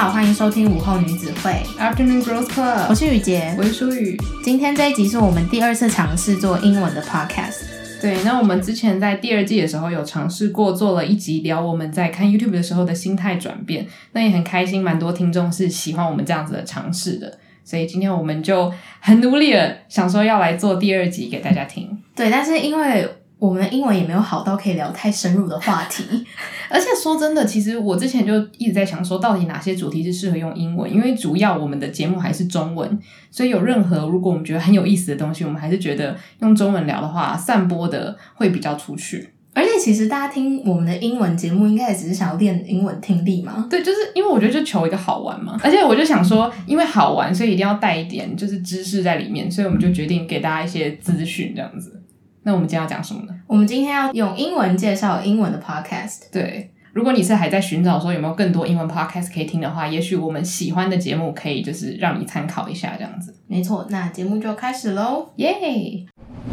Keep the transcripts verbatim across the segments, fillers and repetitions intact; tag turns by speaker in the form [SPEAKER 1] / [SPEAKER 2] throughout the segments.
[SPEAKER 1] 好，歡迎收聽午後女子會
[SPEAKER 2] Afternoon Girls Club，
[SPEAKER 1] 我是雨潔，
[SPEAKER 2] 我是舒雨。
[SPEAKER 1] 今天這一集是我們第二次嘗試做英文的 podcast。
[SPEAKER 2] 對，那我們之前在第二季的時候有嘗試過做了一集聊我們在看 YouTube 的時候的心態轉變，那也很開心，蠻多聽眾是喜歡我們這樣子的嘗試的，所以今天我們就很努力的想說要來做第二集給大家聽。
[SPEAKER 1] 對，但是因為我們的英文也沒有好到可以聊太深入的話題，
[SPEAKER 2] 而且說真的，其實我之前就一直在想說，到底哪些主題是適合用英文？因為主要我們的節目還是中文，所以有任何如果我們覺得很有意思的東西，我們還是覺得用中文聊的話，散播的會比較出去。
[SPEAKER 1] 而且其實大家聽我們的英文節目，應該也只是想要練英文聽力嘛？
[SPEAKER 2] 對，就是因為我覺得就求一個好玩嘛，而且我就想說，因為好玩，所以一定要帶一點就是知識在裡面，所以我們就決定給大家一些資訊這樣子。那我們今天要講什麼呢？
[SPEAKER 1] 我們今天要用英文介紹英文的 podcast。
[SPEAKER 2] 對，如果你是還在尋找說有沒有更多英文 podcast 可以聽的話，也許我們喜歡的節目可以就是讓你參考一下這樣子。
[SPEAKER 1] 沒錯，那節目就開始咯。
[SPEAKER 2] 耶、
[SPEAKER 1] yeah!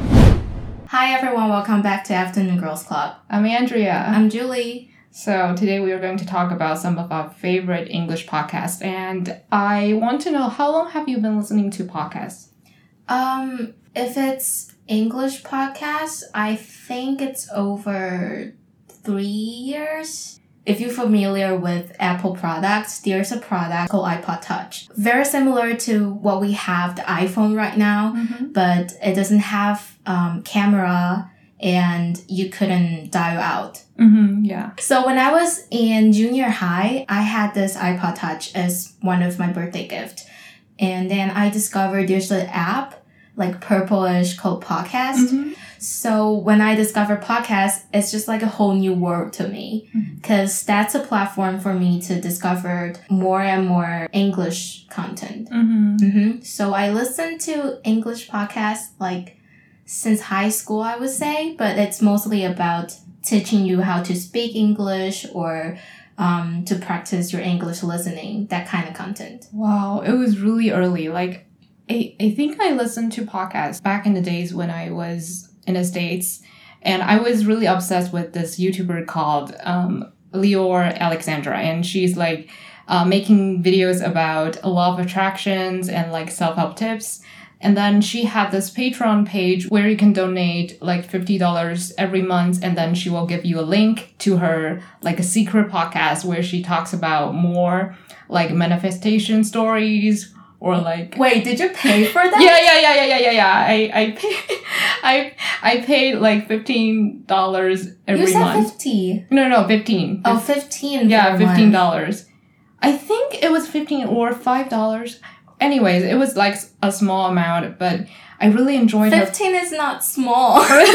[SPEAKER 1] Hi everyone, welcome back to Afternoon Girls Club.
[SPEAKER 2] I'm Andrea.
[SPEAKER 1] I'm Julie.
[SPEAKER 2] So today we are going to talk about some of our favorite English podcasts, and I want to know, how long have you been listening to podcasts?
[SPEAKER 1] Um, if it's English podcast, I think it's over three years. If you're familiar with Apple products, there's a product called iPod Touch. Very similar to what we have the iPhone right now, mm-hmm. but it doesn't have um, camera and you couldn't dial out.
[SPEAKER 2] Mm-hmm, yeah.
[SPEAKER 1] So when I was in junior high, I had this iPod Touch as one of my birthday gifts. And then I discovered there's an app like purplish called podcast. Mm-hmm. So when I discovered podcast, it's just like a whole new world to me, because mm-hmm. that's a platform for me to discover more and more English content. Mm-hmm. Mm-hmm. So I listen to English podcasts like since high school, I would say, but it's mostly about teaching you how to speak English or um, to practice your English listening, that kind of content.
[SPEAKER 2] Wow, it was really early. Like, I, I think I listened to podcasts back in the days when I was in the States, and I was really obsessed with this YouTuber called um, Lior Alexandra, and she's like uh, making videos about law of attractions and like self-help tips. And then she had this Patreon page where you can donate like fifty dollars every month, and then she will give you a link to her like a secret podcast where she talks about more like manifestation stories. Or like,
[SPEAKER 1] wait, did you pay for that?
[SPEAKER 2] Yeah, yeah, yeah, yeah, yeah, yeah, yeah. I, I paid, I, I paid like fifteen dollars every month.
[SPEAKER 1] You said
[SPEAKER 2] month.
[SPEAKER 1] fifty.
[SPEAKER 2] No, no, fifteen.
[SPEAKER 1] Oh, fifteen.
[SPEAKER 2] Yeah, fifteen dollars. I think it was fifteen or five dollars. Anyways, it was like a small amount, but I really enjoyed it.
[SPEAKER 1] Fifteen her... is not small.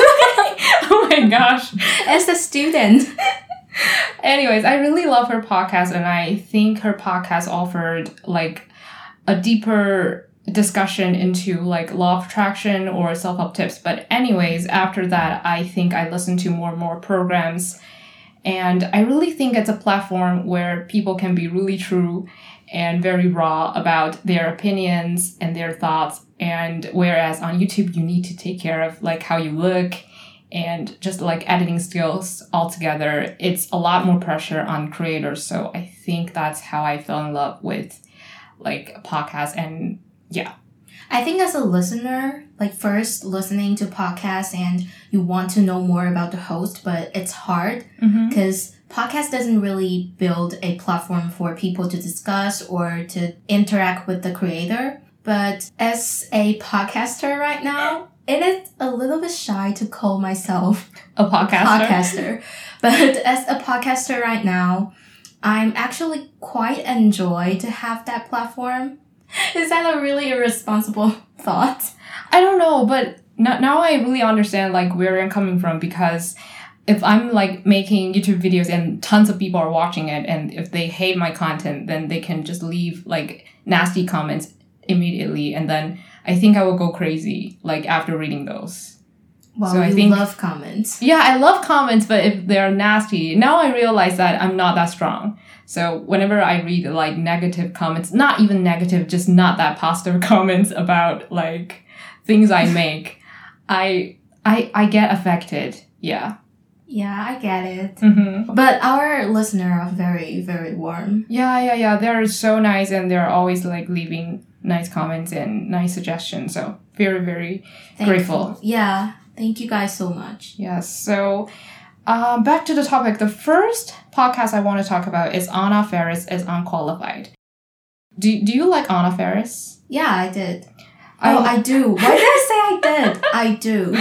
[SPEAKER 2] Oh my gosh.
[SPEAKER 1] As a student.
[SPEAKER 2] Anyways, I really love her podcast, and I think her podcast offered like a deeper discussion into like law of attraction or self-help tips. But anyways, after that, I think I listened to more and more programs. And I really think it's a platform where people can be really true and very raw about their opinions and their thoughts. And whereas on YouTube, you need to take care of like how you look and just like editing skills altogether. It's a lot more pressure on creators. So I think that's how I fell in love with like a podcast. And yeah,
[SPEAKER 1] I think as a listener, like first listening to podcasts and you want to know more about the host, but it's hard because mm-hmm. podcast doesn't really build a platform for people to discuss or to interact with the creator. But as a podcaster right now, it is a little bit shy to call myself
[SPEAKER 2] a podcaster.
[SPEAKER 1] podcaster. But as a podcaster right now, I'm actually quite enjoy to have that platform. Is that a really irresponsible thought?
[SPEAKER 2] I don't know, but now, now I really understand like where I'm coming from, because if I'm like making YouTube videos and tons of people are watching it, and if they hate my content, then they can just leave like nasty comments immediately, and then I think I will go crazy like after reading those.
[SPEAKER 1] Wow,
[SPEAKER 2] so
[SPEAKER 1] you
[SPEAKER 2] I think,
[SPEAKER 1] love comments.
[SPEAKER 2] Yeah, I love comments, but if they're nasty, now I realize that I'm not that strong. So whenever I read like negative comments, not even negative, just not that positive comments about like things I make, I I I get affected. Yeah.
[SPEAKER 1] Yeah, I get it.
[SPEAKER 2] Mm-hmm.
[SPEAKER 1] But our listeners are very, very warm.
[SPEAKER 2] Yeah, yeah, yeah. They're so nice and they're always like leaving nice comments and nice suggestions. So very, very
[SPEAKER 1] Thankful.
[SPEAKER 2] grateful.
[SPEAKER 1] Yeah. Thank you guys so much.
[SPEAKER 2] Yes. So um, back to the topic. The first podcast I want to talk about is Anna Faris is Unqualified. Do, do you like Anna Faris?
[SPEAKER 1] Yeah, I did.
[SPEAKER 2] I,
[SPEAKER 1] oh, I do. Why did I say I did? I do.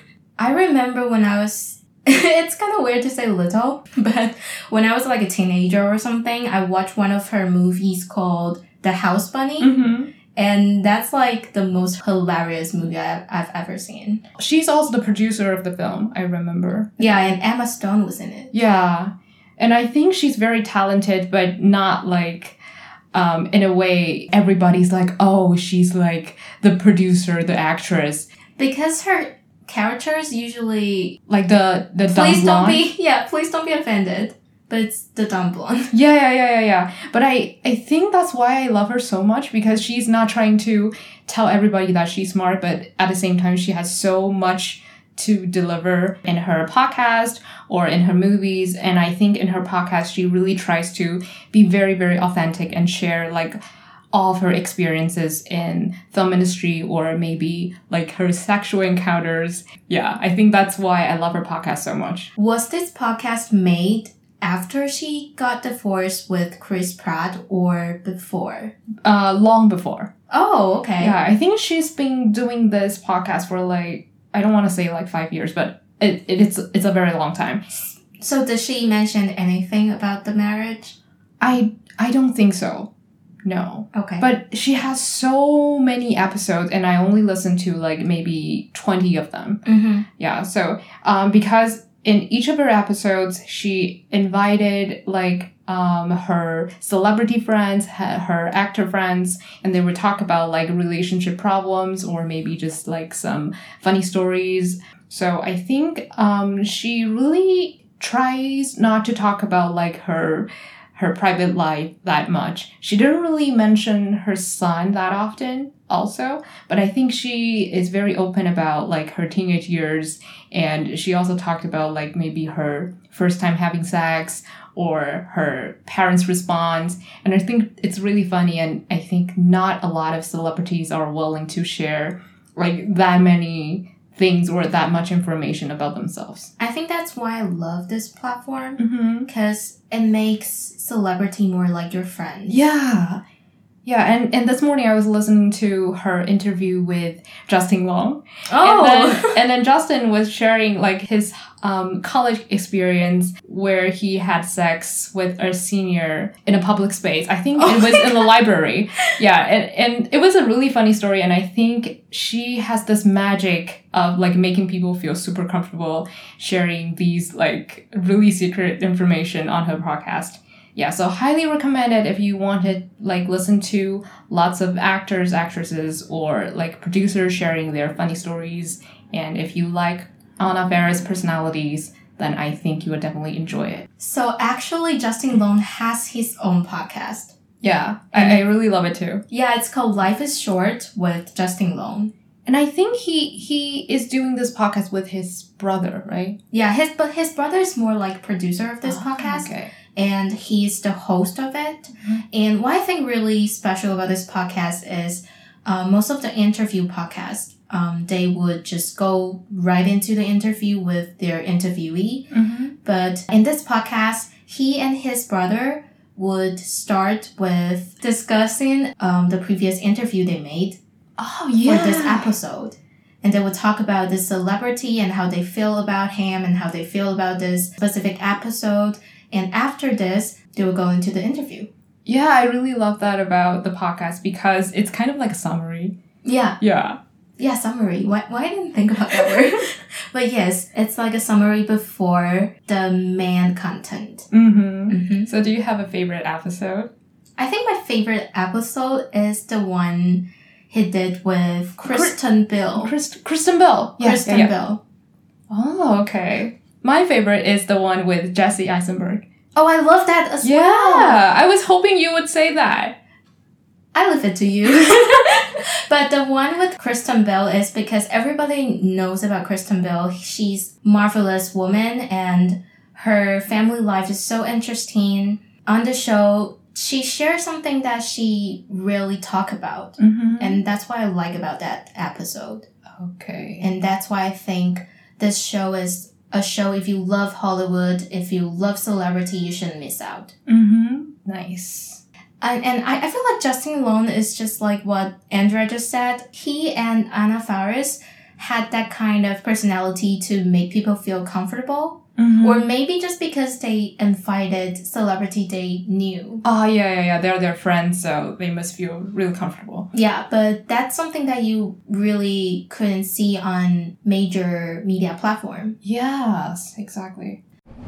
[SPEAKER 1] I remember when I was... It's kind of weird to say little, but when I was like a teenager or something, I watched one of her movies called The House Bunny.
[SPEAKER 2] Mm-hmm.
[SPEAKER 1] And that's like the most hilarious movie I've, I've ever seen.
[SPEAKER 2] She's also the producer of the film, I remember.
[SPEAKER 1] Yeah, and Emma Stone was in it.
[SPEAKER 2] Yeah. And I think she's very talented, but not like... Um, in a way, everybody's like, oh, she's like the producer, the actress.
[SPEAKER 1] Because her characters usually...
[SPEAKER 2] Like the, the dumb
[SPEAKER 1] Please don't
[SPEAKER 2] blonde.
[SPEAKER 1] be... Yeah, please don't be offended. But it's the dumb blonde.
[SPEAKER 2] Yeah, yeah, yeah, yeah, yeah. But I, I think that's why I love her so much, because she's not trying to tell everybody that she's smart, but at the same time, she has so much to deliver in her podcast or in her movies. And I think in her podcast, she really tries to be very, very authentic and share like all of her experiences in film industry or maybe like her sexual encounters. Yeah, I think that's why I love her podcast so much.
[SPEAKER 1] Was this podcast made after she got divorced with Chris Pratt or before?
[SPEAKER 2] Uh, long before.
[SPEAKER 1] Oh, okay.
[SPEAKER 2] Yeah, I think she's been doing this podcast for like, I don't want to say like five years, but it, it it's it's a very long time.
[SPEAKER 1] So did she mention anything about the marriage?
[SPEAKER 2] I I don't think so. No.
[SPEAKER 1] Okay.
[SPEAKER 2] But she has so many episodes and I only listened to like maybe twenty of them.
[SPEAKER 1] Mm-hmm.
[SPEAKER 2] Yeah, so um because in each of her episodes she invited like um her celebrity friends, her actor friends, and they would talk about like relationship problems or maybe just like some funny stories. So I think um she really tries not to talk about like her her private life that much. She didn't really mention her son that often also, but I think she is very open about like her teenage years, and she also talked about like maybe her first time having sex or her parents' response. And I think it's really funny, and I think not a lot of celebrities are willing to share like that many things or that much information about themselves.
[SPEAKER 1] I think that's why I love this platform, because mm-hmm. it makes celebrity more like your friends.
[SPEAKER 2] Yeah. Yeah, and, and this morning I was listening to her interview with Justin Long.
[SPEAKER 1] Oh!
[SPEAKER 2] And then, and then Justin was sharing like his um, college experience where he had sex with a senior in a public space. I think oh it was in the library. Yeah, and, and it was a really funny story, and I think she has this magic of like making people feel super comfortable sharing these like really secret information on her podcast. Yeah, so highly recommend it if you want to like listen to lots of actors, actresses, or like producers sharing their funny stories. And if you like Anna Faris personalities, then I think you would definitely enjoy it.
[SPEAKER 1] So actually, Justin Long has his own podcast.
[SPEAKER 2] Yeah, I, I really love it too.
[SPEAKER 1] Yeah, it's called Life is Short with Justin Long.
[SPEAKER 2] And I think he he is doing this podcast with his brother, right?
[SPEAKER 1] Yeah, his but his brother is more like producer of this oh, podcast.
[SPEAKER 2] Okay.
[SPEAKER 1] And he's the host of it. Mm-hmm. And what I think really special about this podcast is uh, most of the interview podcasts, um, they would just go right into the interview with their interviewee. Mm-hmm. But in this podcast, he and his brother would start with discussing um, the previous interview they made
[SPEAKER 2] oh, yeah.
[SPEAKER 1] for this episode. And they would talk about this celebrity and how they feel about him and how they feel about this specific episode. And after this, they will go into the interview.
[SPEAKER 2] Yeah, I really love that about the podcast because it's kind of like a summary.
[SPEAKER 1] Yeah.
[SPEAKER 2] Yeah.
[SPEAKER 1] Yeah, summary. Why, why I didn't think about that word? But yes, it's like a summary before the main content.
[SPEAKER 2] Mm-hmm. Mm-hmm. So do you have a favorite episode?
[SPEAKER 1] I think my favorite episode is the one he did with Kristen Bell.
[SPEAKER 2] Christ- Kristen Bell.
[SPEAKER 1] Yeah, Kristen
[SPEAKER 2] yeah, yeah.
[SPEAKER 1] Bell.
[SPEAKER 2] Oh, okay. My favorite is the one with Jesse Eisenberg.
[SPEAKER 1] Oh, I love that as
[SPEAKER 2] yeah,
[SPEAKER 1] well.
[SPEAKER 2] Yeah, I was hoping you would say that.
[SPEAKER 1] I leave it to you. But the one with Kristen Bell is because everybody knows about Kristen Bell. She's a marvelous woman and her family life is so interesting. On the show, she shares something that she really talk about.
[SPEAKER 2] Mm-hmm.
[SPEAKER 1] And that's what I like about that episode.
[SPEAKER 2] Okay.
[SPEAKER 1] And that's why I think this show is a show if you love Hollywood, if you love celebrity, you shouldn't miss out.
[SPEAKER 2] Mm-hmm. Nice.
[SPEAKER 1] And, and I, I feel like Justin Long is just like what Andrea just said. He and Anna Faris had that kind of personality to make people feel comfortable.
[SPEAKER 2] Mm-hmm.
[SPEAKER 1] Or maybe just because they invited celebrity they knew.
[SPEAKER 2] Oh, yeah, yeah, yeah. They're their friends, so they must feel really comfortable.
[SPEAKER 1] Yeah, but that's something that you really couldn't see on major media platform.
[SPEAKER 2] Yes, exactly.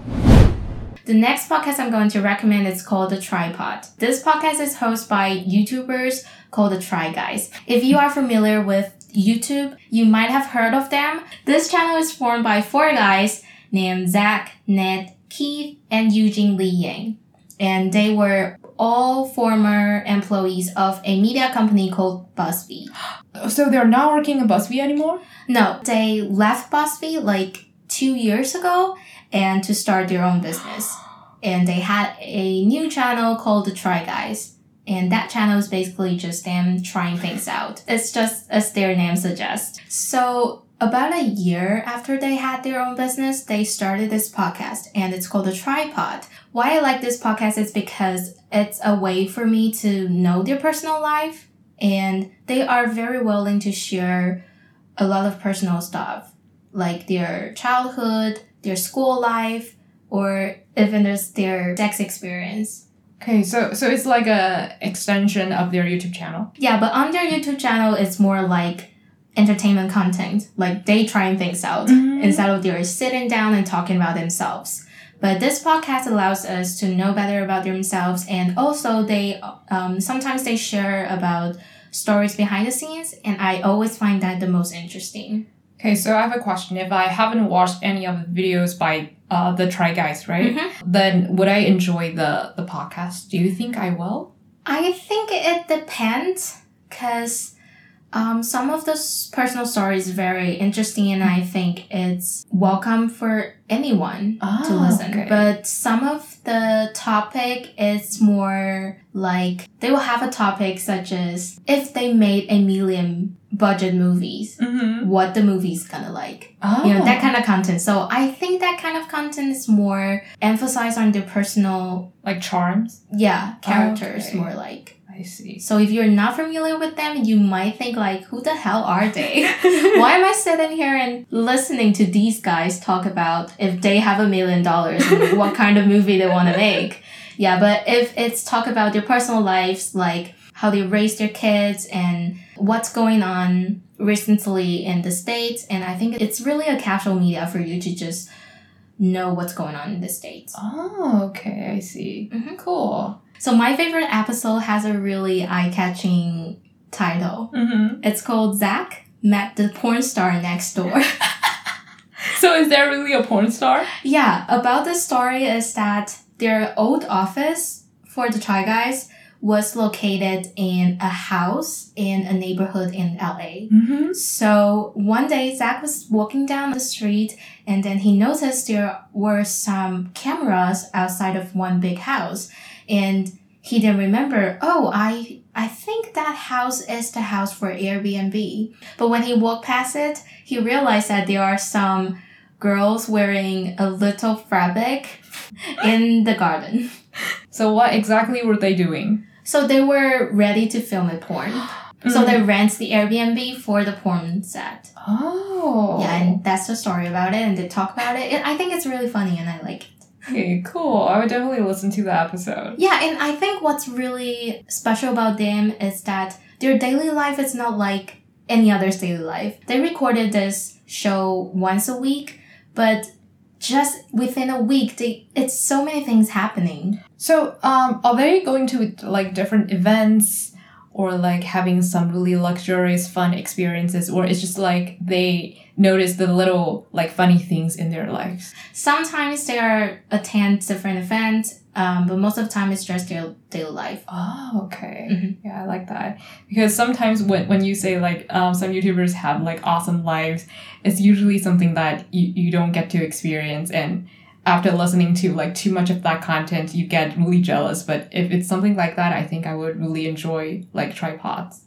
[SPEAKER 1] The next podcast I'm going to recommend is called The Tripod. This podcast is hosted by YouTubers called The Try Guys. If you are familiar with YouTube, you might have heard of them. This channel is formed by four guys named Zach, Ned, Keith, and Eugene Lee Yang. And they were all former employees of a media company called BuzzFeed.
[SPEAKER 2] So they're not working at BuzzFeed anymore?
[SPEAKER 1] No, they left BuzzFeed like two years ago and to start their own business. And they had a new channel called The Try Guys. And that channel is basically just them trying things out. It's just as their name suggests. So about a year after they had their own business, they started this podcast and it's called The Tripod. Why I like this podcast is because it's a way for me to know their personal life and they are very willing to share a lot of personal stuff like their childhood, their school life, or even just their sex experience.
[SPEAKER 2] Okay, so so it's like a extension of their YouTube channel.
[SPEAKER 1] Yeah, but on their YouTube channel, it's more like entertainment content, like they trying things out mm-hmm. instead of they're sitting down and talking about themselves. But this podcast allows us to know better about themselves, and also they um sometimes they share about stories behind the scenes, and I always find that the most interesting.
[SPEAKER 2] Okay, so I have a question. If I haven't watched any of the videos by uh, the Try Guys, right? Mm-hmm. Then would I enjoy the, the podcast? Do you think I will?
[SPEAKER 1] I think it depends because um, some of those personal stories are very interesting and I think it's welcome for anyone
[SPEAKER 2] ah,
[SPEAKER 1] to listen.
[SPEAKER 2] Okay.
[SPEAKER 1] But some of the topic is more like they will have a topic such as if they made a million budget movies, mm-hmm. what the movie's gonna like. Oh. You know, that kind of content. So I think that kind of content is more emphasized on their personal...
[SPEAKER 2] Like charms?
[SPEAKER 1] Yeah, characters
[SPEAKER 2] okay.
[SPEAKER 1] more like.
[SPEAKER 2] I see.
[SPEAKER 1] So if you're not familiar with them, you might think like, who the hell are they? Why am I sitting here and listening to these guys talk about if they have a million dollars and what kind of movie they want to make? Yeah, but if it's talk about their personal lives, like how they raise their kids and what's going on recently in the States. And I think it's really a casual media for you to just know what's going on in the States.
[SPEAKER 2] Oh, okay. I see. Mm-hmm. Cool.
[SPEAKER 1] So my favorite episode has a really eye-catching title. Mm-hmm. It's called Zach Met the Porn Star Next Door.
[SPEAKER 2] So is there really a porn star?
[SPEAKER 1] Yeah. About the story is that their old office for the Try Guys was located in a house in a neighborhood in L A. Mm-hmm. So one day, Zach was walking down the street and then he noticed there were some cameras outside of one big house. And he then remembered, oh, I I think that house is the house for Airbnb. But when he walked past it, he realized that there are some girls wearing a little fabric in the garden.
[SPEAKER 2] So what exactly were they doing?
[SPEAKER 1] So they were ready to film a porn. Mm-hmm. So they rent the Airbnb for the porn set.
[SPEAKER 2] Oh.
[SPEAKER 1] Yeah, and that's the story about it, and they talk about it. I think it's really funny, and I like it.
[SPEAKER 2] Okay, cool. I would definitely listen to the episode.
[SPEAKER 1] Yeah, and I think what's really special about them is that their daily life is not like any other's daily life. They recorded this show once a week, but just within a week, they, it's so many things happening.
[SPEAKER 2] So, um, are they going to like different events or like having some really luxurious fun experiences, or it's just like they notice the little like funny things in their lives?
[SPEAKER 1] Sometimes they are attend different events, um, but most of the time it's just their daily life.
[SPEAKER 2] Oh, okay.
[SPEAKER 1] Mm-hmm.
[SPEAKER 2] Yeah, I like that. Because sometimes when, when you say like um, some YouTubers have like awesome lives, it's usually something that you, you don't get to experience, and after listening to like too much of that content, you get really jealous. But if it's something like that, I think I would really enjoy like Tripods.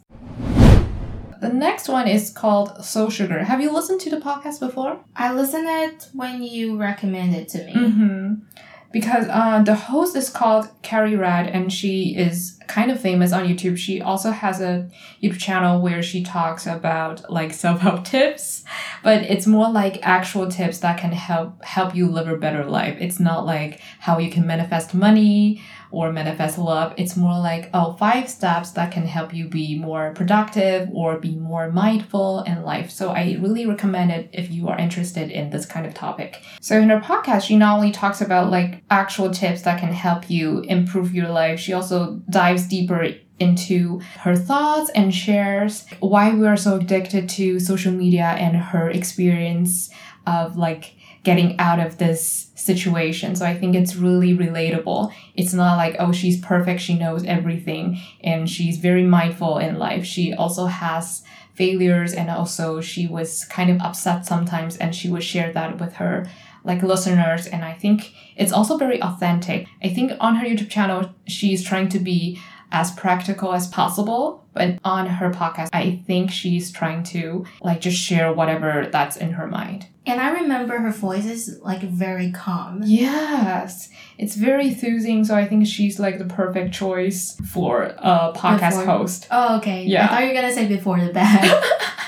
[SPEAKER 2] The next one is called Soul Sugar. Have you listened to the podcast before?
[SPEAKER 1] I listened it when you recommended it to me.
[SPEAKER 2] Mm-hmm. Because uh, the host is called Carrie Rad, and she is kind of famous on YouTube. She also has a YouTube channel where she talks about like self-help tips, but it's more like actual tips that can help help you live a better life. It's not like how you can manifest money or manifest love. It's more like, oh, five steps that can help you be more productive or be more mindful in life. So I really recommend it if you are interested in this kind of topic. So in her podcast, she not only talks about like actual tips that can help you improve your life, she also dives deeper into her thoughts and shares why we are so addicted to social media and her experience of like getting out of this situation. So I think it's really relatable. It's not like, oh, she's perfect, she knows everything, and she's very mindful in life. She also has failures, and also she was kind of upset sometimes, and she would share that with her like listeners. And I think it's also very authentic. I think on her YouTube channel, she's trying to be as practical as possible, but on her podcast, I think she's trying to like just share whatever that's in her mind.
[SPEAKER 1] And I remember her voice is like very calm.
[SPEAKER 2] Yes, it's very soothing. So I think she's like the perfect choice for a podcast
[SPEAKER 1] Before.
[SPEAKER 2] host.
[SPEAKER 1] Oh, okay.
[SPEAKER 2] Yeah.
[SPEAKER 1] I thought you were gonna say before the bed.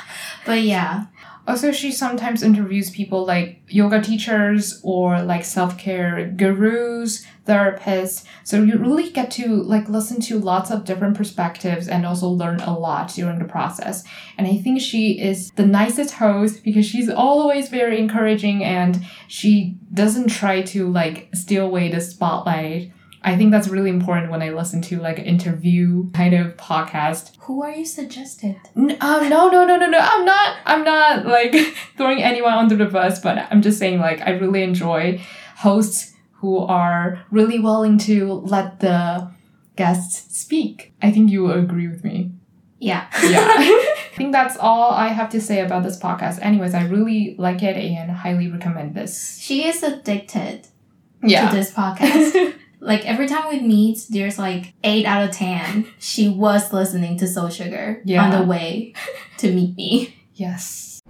[SPEAKER 1] But yeah.
[SPEAKER 2] Also, she sometimes interviews people like yoga teachers or like self-care gurus, therapists. So you really get to like listen to lots of different perspectives and also learn a lot during the process. And I think she is the nicest host because she's always very encouraging, and she doesn't try to like steal away the spotlight. I think that's really important when I listen to like an interview kind of podcast.
[SPEAKER 1] Who are you suggested?
[SPEAKER 2] N- um, no, no, no, no, no. I'm not, I'm not like throwing anyone under the bus, but I'm just saying like I really enjoy hosts who are really willing to let the guests speak. I think you will agree with me.
[SPEAKER 1] Yeah.
[SPEAKER 2] Yeah. I think that's all I have to say about this podcast. Anyways, I really like it and highly recommend this.
[SPEAKER 1] She is addicted
[SPEAKER 2] Yeah.
[SPEAKER 1] to this podcast. Like, every time we meet, there's like eight out of ten. She was listening to Soul Sugar
[SPEAKER 2] Yeah.
[SPEAKER 1] on the way to meet me.
[SPEAKER 2] Yes.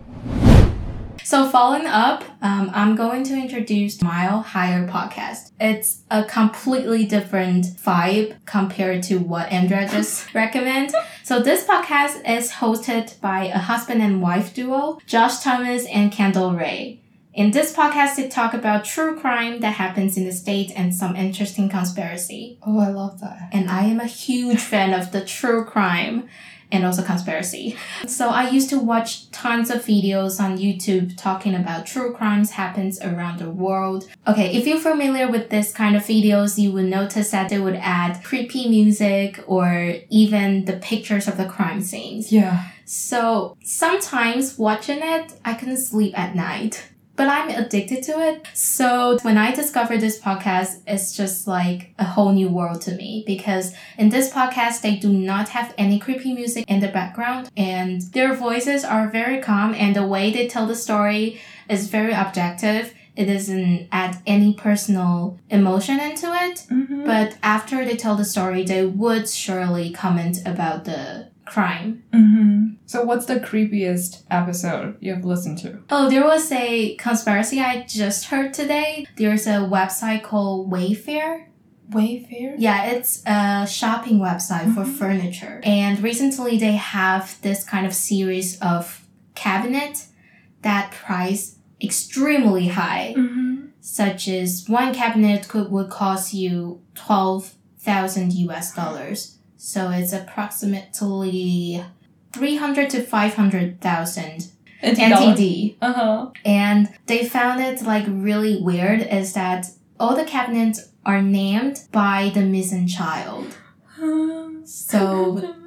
[SPEAKER 1] So following up, um, I'm going to introduce Mile Higher podcast. It's a completely different vibe compared to what Andrea just recommended. So this podcast is hosted by a husband and wife duo, Josh Thomas and Kendall Ray. In this podcast, they talk about true crime that happens in the States and some interesting conspiracy.
[SPEAKER 2] Oh, I love that.
[SPEAKER 1] And I am a huge fan of the true crime and also conspiracy. So I used to watch tons of videos on YouTube talking about true crimes happens around the world. Okay, if you're familiar with this kind of videos, you would notice that they would add creepy music or even the pictures of the crime scenes.
[SPEAKER 2] Yeah.
[SPEAKER 1] So sometimes watching it, I couldn't sleep at night. But I'm addicted to it. So when I discovered this podcast, it's just like a whole new world to me. Because in this podcast, they do not have any creepy music in the background. And their voices are very calm. And the way they tell the story is very objective. It doesn't add any personal emotion into it.
[SPEAKER 2] Mm-hmm.
[SPEAKER 1] But after they tell the story, they would surely comment about the crime.
[SPEAKER 2] Mm-hmm. So what's the creepiest episode you've listened to?
[SPEAKER 1] Oh, there was a conspiracy I just heard today. There's a website called Wayfair.
[SPEAKER 2] Wayfair?
[SPEAKER 1] Yeah, it's a shopping website mm-hmm. for furniture. And recently they have this kind of series of cabinets that price extremely high.
[SPEAKER 2] Mm-hmm.
[SPEAKER 1] Such as one cabinet could would cost you twelve thousand U S dollars. So it's approximately three hundred to five hundred thousand N T D.
[SPEAKER 2] Uh-huh.
[SPEAKER 1] And they found it like really weird is that all the cabinets are named by the missing child. So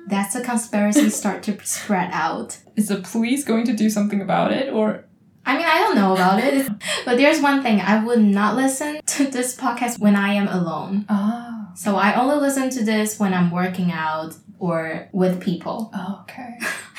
[SPEAKER 1] that's a conspiracy start to spread out.
[SPEAKER 2] Is the police going to do something about it, or?
[SPEAKER 1] I mean, I don't know about it. But there's one thing. I would not listen to this podcast when I am alone.
[SPEAKER 2] Oh.
[SPEAKER 1] So I only listen to this when I'm working out or with people.
[SPEAKER 2] Oh, okay.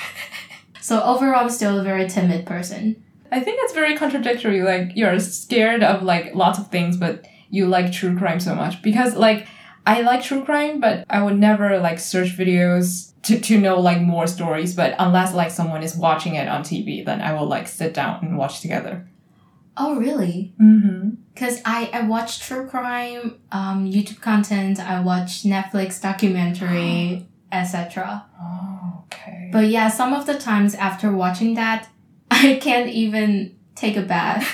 [SPEAKER 1] So overall, I'm still a very timid person.
[SPEAKER 2] I think it's very contradictory. Like, you're scared of, like, lots of things, but you like true crime so much. Because, like, I like true crime, but I would never, like, search videos to, to know, like, more stories. But unless, like, someone is watching it on T V, then I will, like, sit down and watch together.
[SPEAKER 1] Oh, really?
[SPEAKER 2] Mm-hmm.
[SPEAKER 1] Because I, I watch true crime, um, YouTube content, I watch Netflix documentary, et cetera.
[SPEAKER 2] Oh, okay.
[SPEAKER 1] But yeah, some of the times after watching that, I can't even take a bath.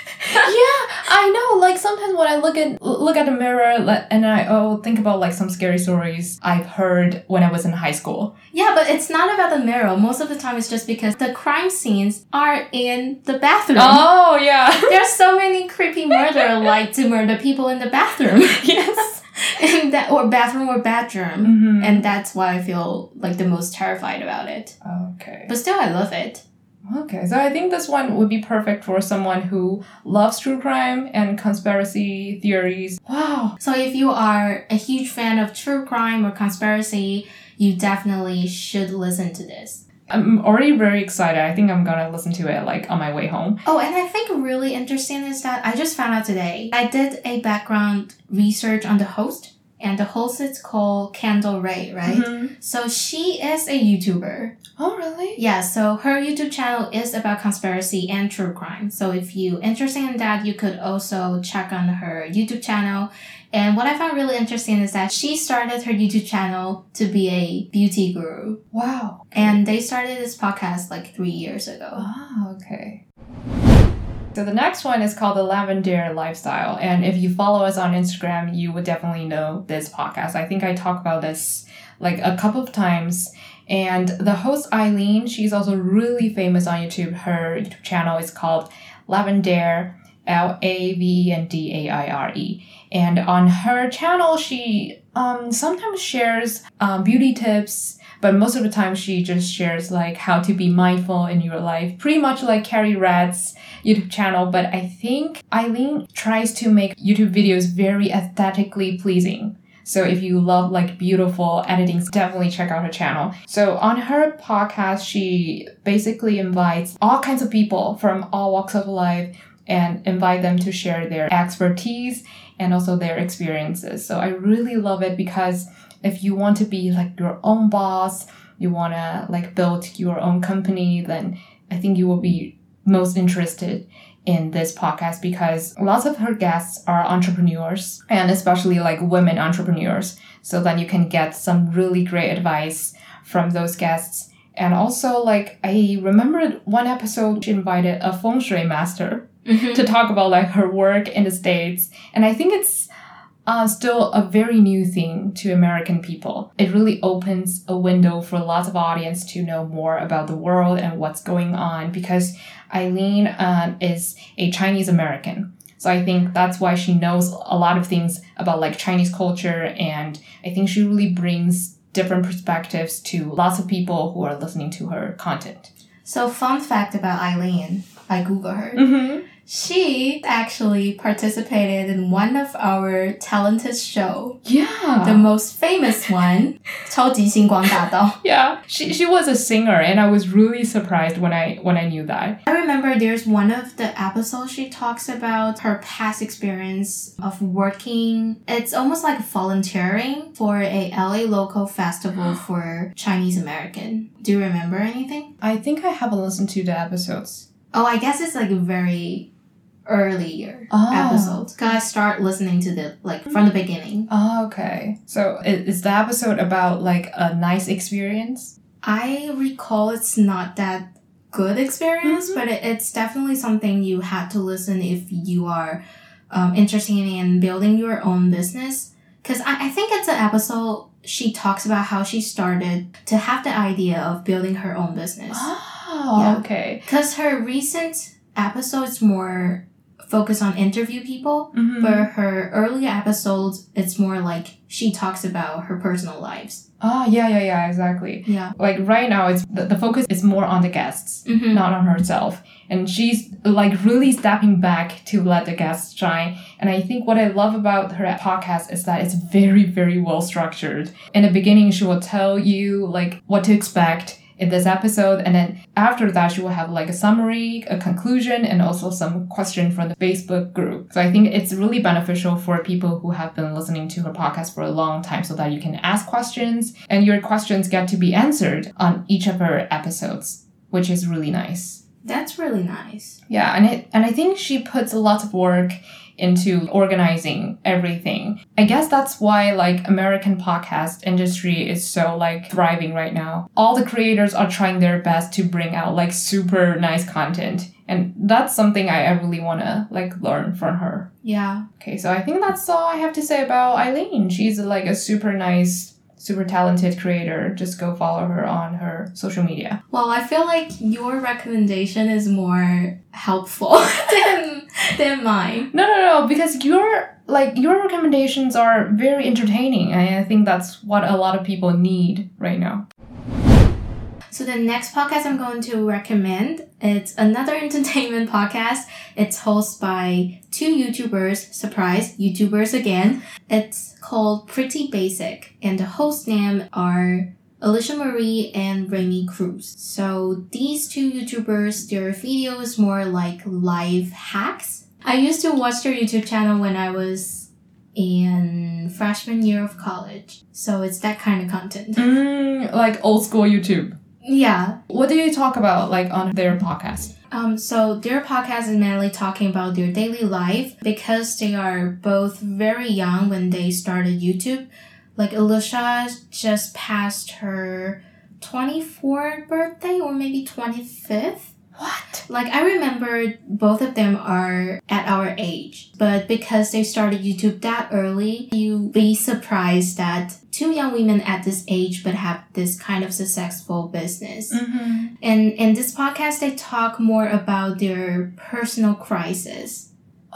[SPEAKER 2] Yeah, I know. Like, sometimes when I look at look at the mirror and I oh think about, like, some scary stories I've heard when I was in high school.
[SPEAKER 1] Yeah, but it's not about the mirror. Most of the time, it's just because the crime scenes are in the bathroom.
[SPEAKER 2] Oh, yeah.
[SPEAKER 1] There's so many creepy murderer like to murder people in the bathroom.
[SPEAKER 2] Yes.
[SPEAKER 1] And that, or bathroom or bedroom.
[SPEAKER 2] Mm-hmm.
[SPEAKER 1] And that's why I feel like the most terrified about it.
[SPEAKER 2] Okay.
[SPEAKER 1] But still, I love it.
[SPEAKER 2] Okay, so I think this one would be perfect for someone who loves true crime and conspiracy theories. Wow.
[SPEAKER 1] So if you are a huge fan of true crime or conspiracy, you definitely should listen to this.
[SPEAKER 2] I'm already very excited. I think I'm gonna listen to it, like, on my way home.
[SPEAKER 1] Oh, and I think really interesting is that I just found out today. I did a background research on the host. And the host is called Kendall Ray, right?
[SPEAKER 2] Mm-hmm.
[SPEAKER 1] So she is a YouTuber.
[SPEAKER 2] Oh, really?
[SPEAKER 1] Yeah, so her YouTube channel is about conspiracy and true crime. So if you're interested in that, you could also check on her YouTube channel. And what I found really interesting is that she started her YouTube channel to be a beauty guru.
[SPEAKER 2] Wow.
[SPEAKER 1] And they started this podcast like three years ago.
[SPEAKER 2] Ah, okay. So the next one is called The Lavender Lifestyle. And if you follow us on Instagram, you would definitely know this podcast. I think I talk about this like a couple of times. And the host, Eileen, she's also really famous on YouTube. Her YouTube channel is called Lavender, L A V E N D A I R E. And on her channel, she um sometimes shares um, beauty tips, but most of the time she just shares like how to be mindful in your life. Pretty much like Carrie Rad's YouTube channel, but I think Eileen tries to make YouTube videos very aesthetically pleasing. So if you love like beautiful editing, definitely check out her channel. So on her podcast, she basically invites all kinds of people from all walks of life and invite them to share their expertise and also their experiences. So I really love it because if you want to be like your own boss, you want to like build your own company, then I think you will be most interested in this podcast because lots of her guests are entrepreneurs and especially like women entrepreneurs. So then you can get some really great advice from those guests. And also like I remembered one episode she invited a feng shui master mm-hmm. to talk about like her work in the States. And I think it's Uh, still a very new thing to American people. It really opens a window for lots of audience to know more about the world and what's going on because Eileen uh, is a Chinese American. So I think that's why she knows a lot of things about like Chinese culture, and I think she really brings different perspectives to lots of people who are listening to her content.
[SPEAKER 1] So fun fact about Eileen, I Googled her.
[SPEAKER 2] Mm-hmm.
[SPEAKER 1] She actually participated in one of our talented show.
[SPEAKER 2] Yeah.
[SPEAKER 1] The most famous one, 超级星光大道.
[SPEAKER 2] Yeah. She she was a singer and I was really surprised when I when I knew that.
[SPEAKER 1] I remember there's one of the episodes she talks about her past experience of working. It's almost like volunteering for a L A local festival for Chinese American. Do you remember anything?
[SPEAKER 2] I think I haven't listened to the episodes.
[SPEAKER 1] Oh, I guess it's like a very earlier
[SPEAKER 2] oh.
[SPEAKER 1] episodes because I start listening to the like from the beginning.
[SPEAKER 2] Oh, okay. So is the episode about like a nice experience?
[SPEAKER 1] I recall it's not that good experience, mm-hmm. but it, it's definitely something you had to listen if you are um, interested in building your own business. Because I, I think it's an episode she talks about how she started to have the idea of building her own business.
[SPEAKER 2] Oh, yeah. Okay.
[SPEAKER 1] Because her recent episode is more focus on interview people.
[SPEAKER 2] Mm-hmm.
[SPEAKER 1] For her earlier episodes, it's more like she talks about her personal lives.
[SPEAKER 2] Ah, yeah, yeah, yeah, exactly.
[SPEAKER 1] Yeah.
[SPEAKER 2] Like right now, it's the, the focus is more on the guests,
[SPEAKER 1] Mm-hmm.
[SPEAKER 2] not on herself. And she's like really stepping back to let the guests shine. And I think what I love about her podcast is that it's very, very well structured. In the beginning, she will tell you like what to expect in this episode, and then after that she will have like a summary, a conclusion, and also some question from the Facebook group. So I think it's really beneficial for people who have been listening to her podcast for a long time, so that you can ask questions and your questions get to be answered on each of her episodes, which is really nice.
[SPEAKER 1] That's really nice.
[SPEAKER 2] Yeah, and it and I think she puts a lot of work into organizing everything. I guess that's why like American podcast industry is so like thriving right now. All the creators are trying their best to bring out like super nice content. And that's something I, I really want to like learn from her.
[SPEAKER 1] Yeah.
[SPEAKER 2] Okay, so I think that's all I have to say about Eileen. She's like a super nice, super talented creator. Just go follow her on her social media.
[SPEAKER 1] Well, I feel like your recommendation is more helpful than than mine.
[SPEAKER 2] No, no, no, because your like your recommendations are very entertaining, and I think that's what a lot of people need right now.
[SPEAKER 1] So the next podcast I'm going to recommend, it's another entertainment podcast. It's hosted by two YouTubers, surprise, YouTubers again. It's called Pretty Basic, and the host name are Alicia Marie and Remy Cruz. So these two YouTubers, their video is more like life hacks. I used to watch their YouTube channel when I was in freshman year of college. So it's that kind of content.
[SPEAKER 2] Mm, like old school YouTube.
[SPEAKER 1] Yeah.
[SPEAKER 2] What do you talk about like on their podcast?
[SPEAKER 1] Um, so their podcast is mainly talking about their daily life because they are both very young when they started YouTube. Like Alicia just passed her twenty-fourth birthday or maybe twenty-fifth.
[SPEAKER 2] What?
[SPEAKER 1] Like I remember both of them are at our age, but because they started YouTube that early, you'd be surprised that two young women at this age but have this kind of successful business.
[SPEAKER 2] Mm-hmm.
[SPEAKER 1] And in this podcast, they talk more about their personal crisis.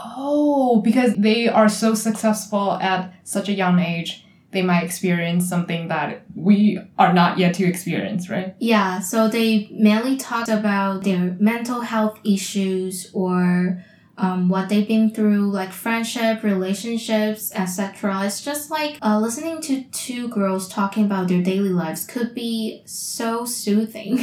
[SPEAKER 2] Oh, because they are so successful at such a young age, they might experience something that we are not yet to experience, right?
[SPEAKER 1] Yeah, so they mainly talked about their mental health issues or um, what they've been through, like friendship, relationships, et cetera. It's just like uh, listening to two girls talking about their daily lives could be so soothing.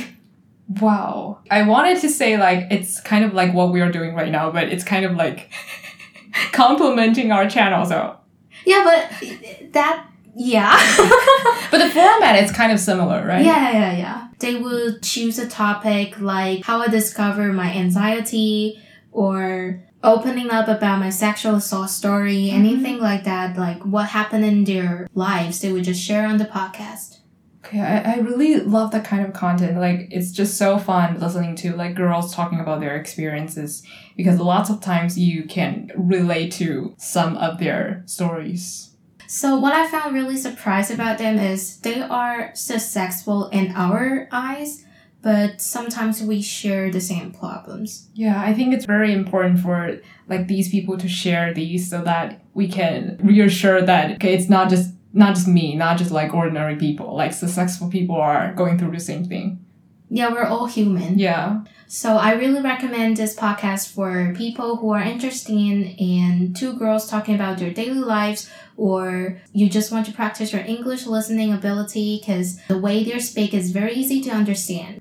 [SPEAKER 2] Wow. I wanted to say like it's kind of like what we are doing right now, but it's kind of like complimenting our channel, so.
[SPEAKER 1] Yeah, but that... Yeah.
[SPEAKER 2] But the format is kind of similar, right?
[SPEAKER 1] Yeah, yeah, yeah. They would choose a topic like how I discovered my anxiety or opening up about my sexual assault story,
[SPEAKER 2] Mm-hmm.
[SPEAKER 1] anything like that, like what happened in their lives, they would just share on the podcast.
[SPEAKER 2] Okay, I, I really love that kind of content. Like, it's just so fun listening to, like, girls talking about their experiences because lots of times you can relate to some of their stories.
[SPEAKER 1] So what I found really surprised about them is they are successful in our eyes, but sometimes we share the same problems.
[SPEAKER 2] Yeah, I think it's very important for, like, these people to share these so that we can reassure that, okay, it's not just Not just me, not just like ordinary people. Like successful people are going through the same thing.
[SPEAKER 1] Yeah, we're all human.
[SPEAKER 2] Yeah.
[SPEAKER 1] So I really recommend this podcast for people who are interested in, in two girls talking about their daily lives, or you just want to practice your English listening ability because the way they speak is very easy to understand.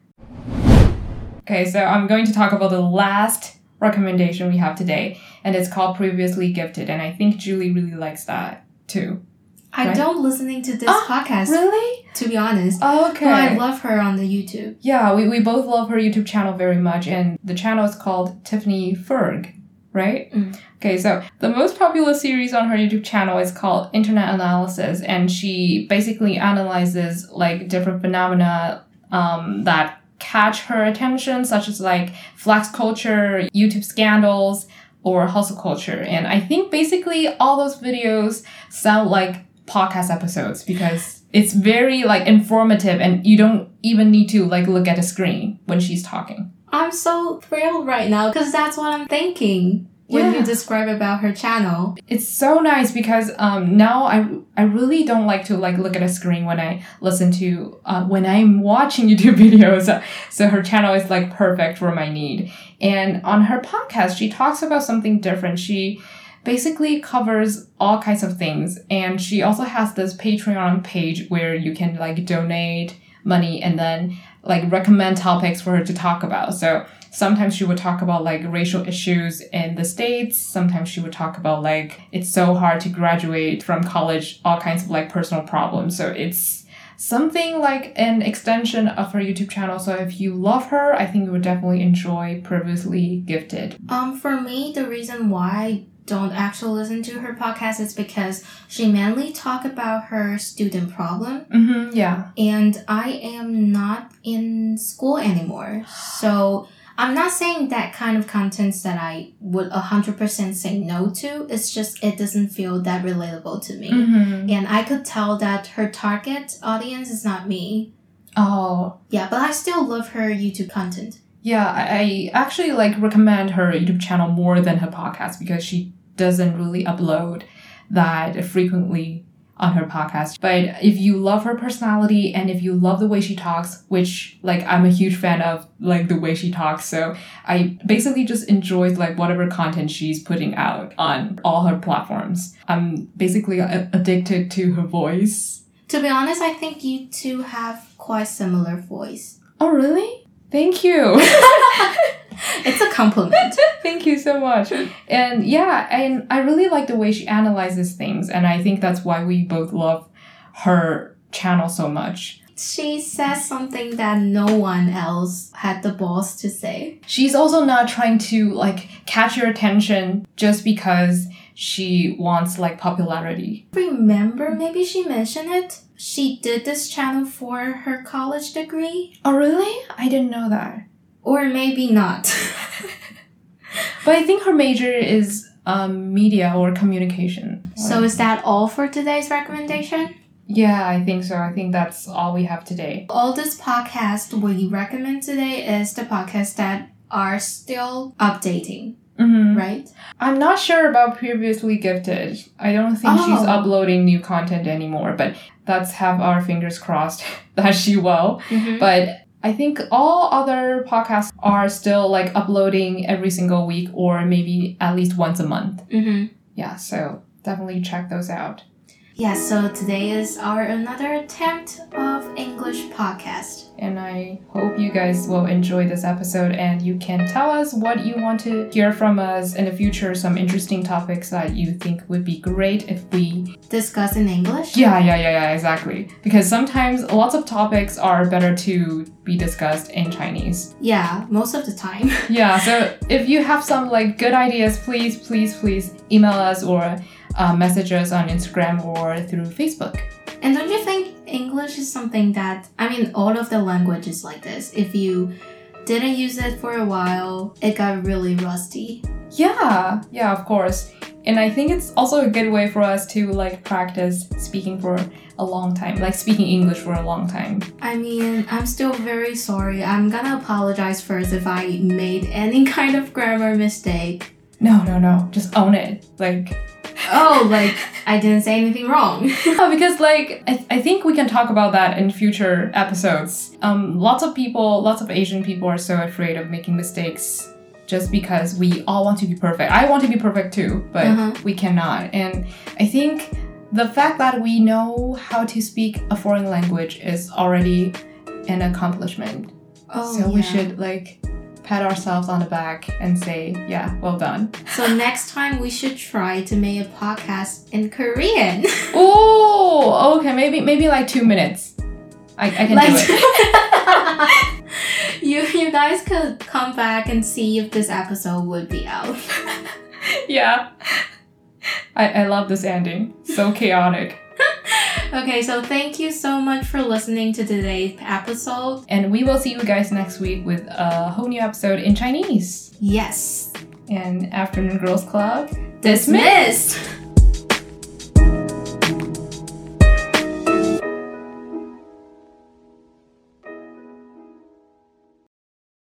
[SPEAKER 2] Okay, so I'm going to talk about the last recommendation we have today, and it's called Previously Gifted, and I think Julie really likes that too.
[SPEAKER 1] I
[SPEAKER 2] Right?
[SPEAKER 1] don't listening to this
[SPEAKER 2] Oh,
[SPEAKER 1] podcast,
[SPEAKER 2] Really?
[SPEAKER 1] to be honest.
[SPEAKER 2] Okay.
[SPEAKER 1] But I love her on the YouTube.
[SPEAKER 2] Yeah, we, we both love her YouTube channel very much, and the channel is called Tiffany Ferg, right?
[SPEAKER 1] Mm.
[SPEAKER 2] Okay, so the most popular series on her YouTube channel is called Internet Analysis, and she basically analyzes like different phenomena um, that catch her attention, such as like flex culture, YouTube scandals, or hustle culture. And I think basically all those videos sound like podcast episodes because it's very like informative and you don't even need to like look at the screen when she's talking.
[SPEAKER 1] I'm so thrilled right now because that's what I'm thinking. when
[SPEAKER 2] Yeah.
[SPEAKER 1] you describe about her channel.
[SPEAKER 2] It's so nice because um, now I I really don't like to like look at a screen when I listen to uh, when I'm watching YouTube videos. So her channel is like perfect for my need. And on her podcast, she talks about something different. She basically covers all kinds of things, and she also has this Patreon page where you can like donate money and then like recommend topics for her to talk about. So sometimes she would talk about like racial issues in the States. Sometimes she would talk about like it's so hard to graduate from college, all kinds of like personal problems. So it's something like an extension of her YouTube channel. So if you love her, I think you would definitely enjoy Previously Gifted.
[SPEAKER 1] Um, for me, the reason why I don't actually listen to her podcast is because she mainly talk about her student problem.
[SPEAKER 2] Mm-hmm, yeah.
[SPEAKER 1] And I am not in school anymore. So I'm not saying that kind of contents that I would one hundred percent say no to. It's just it doesn't feel that relatable to me.
[SPEAKER 2] Mm-hmm.
[SPEAKER 1] And I could tell that her target audience is not me.
[SPEAKER 2] Oh.
[SPEAKER 1] Yeah, but I still love her YouTube content.
[SPEAKER 2] Yeah, I, I actually like recommend her YouTube channel more than her podcast because she doesn't really upload that frequently on her podcast. But if you love her personality and if you love the way she talks, which like I'm a huge fan of like the way she talks, so I basically just enjoy like whatever content she's putting out on all her platforms. I'm basically a- addicted to her voice.
[SPEAKER 1] To be honest, I think you two have quite similar voice.
[SPEAKER 2] Oh, really? Thank you.
[SPEAKER 1] It's a compliment.
[SPEAKER 2] Thank you so much. And yeah, and I really like the way she analyzes things. And I think that's why we both love her channel so much.
[SPEAKER 1] She says something that no one else had the balls to say.
[SPEAKER 2] She's also not trying to like catch your attention just because she wants like popularity.
[SPEAKER 1] Remember, maybe she mentioned it? She did this channel for her college degree?
[SPEAKER 2] Oh, really? I didn't know that.
[SPEAKER 1] Or maybe not.
[SPEAKER 2] But I think her major is um, media or communication.
[SPEAKER 1] So is that all for today's recommendation?
[SPEAKER 2] Yeah, I think so. I think that's all we have today.
[SPEAKER 1] All this podcast we recommend today is the podcasts that are still updating,
[SPEAKER 2] Mm-hmm.
[SPEAKER 1] right?
[SPEAKER 2] I'm not sure about Previously Gifted. I don't think
[SPEAKER 1] Oh.
[SPEAKER 2] she's uploading new content anymore, but let's have our fingers crossed that she will.
[SPEAKER 1] Mm-hmm.
[SPEAKER 2] But I think all other podcasts are still like uploading every single week or maybe at least once a month.
[SPEAKER 1] Mm-hmm.
[SPEAKER 2] Yeah, so definitely check those out.
[SPEAKER 1] Yeah, so today is our another attempt of English podcast.
[SPEAKER 2] And I hope you guys will enjoy this episode and you can tell us what you want to hear from us in the future, some interesting topics that you think would be great if we
[SPEAKER 1] Discuss in English?
[SPEAKER 2] Yeah, yeah, yeah, yeah, exactly. Because sometimes lots of topics are better to be discussed in Chinese.
[SPEAKER 1] Yeah, most of the time.
[SPEAKER 2] Yeah, so if you have some like good ideas, please, please, please email us or uh, message us on Instagram or through Facebook.
[SPEAKER 1] And don't you think English is something that, I mean, all of the language is like this. If you didn't use it for a while, it got really rusty.
[SPEAKER 2] Yeah, yeah, of course. And I think it's also a good way for us to like practice speaking for a long time, like speaking English for a long time.
[SPEAKER 1] I mean, I'm still very sorry. I'm gonna apologize first if I made any kind of grammar mistake.
[SPEAKER 2] No, no, no. Just own it. Like,
[SPEAKER 1] Oh, like, I didn't say anything wrong.
[SPEAKER 2] yeah, because like I, th- I think we can talk about that in future episodes. Um, lots of people, lots of Asian people are so afraid of making mistakes just because we all want to be perfect. I want to be perfect too, but
[SPEAKER 1] Uh-huh.
[SPEAKER 2] we cannot. And I think the fact that we know how to speak a foreign language is already an accomplishment.
[SPEAKER 1] Oh,
[SPEAKER 2] so we
[SPEAKER 1] yeah.
[SPEAKER 2] should like pat ourselves on the back and say, yeah, well done.
[SPEAKER 1] So next time we should try to make a podcast in Korean.
[SPEAKER 2] Oh, okay, maybe maybe like two minutes. I, I can
[SPEAKER 1] Like-
[SPEAKER 2] do it.
[SPEAKER 1] you you guys could come back and see if this episode would be out.
[SPEAKER 2] Yeah. I, I love this ending. So chaotic.
[SPEAKER 1] Okay, so thank you so much for listening to today's episode.
[SPEAKER 2] And we will see you guys next week with a whole new episode in Chinese.
[SPEAKER 1] Yes.
[SPEAKER 2] And Afternoon Girls Club
[SPEAKER 1] Dismissed!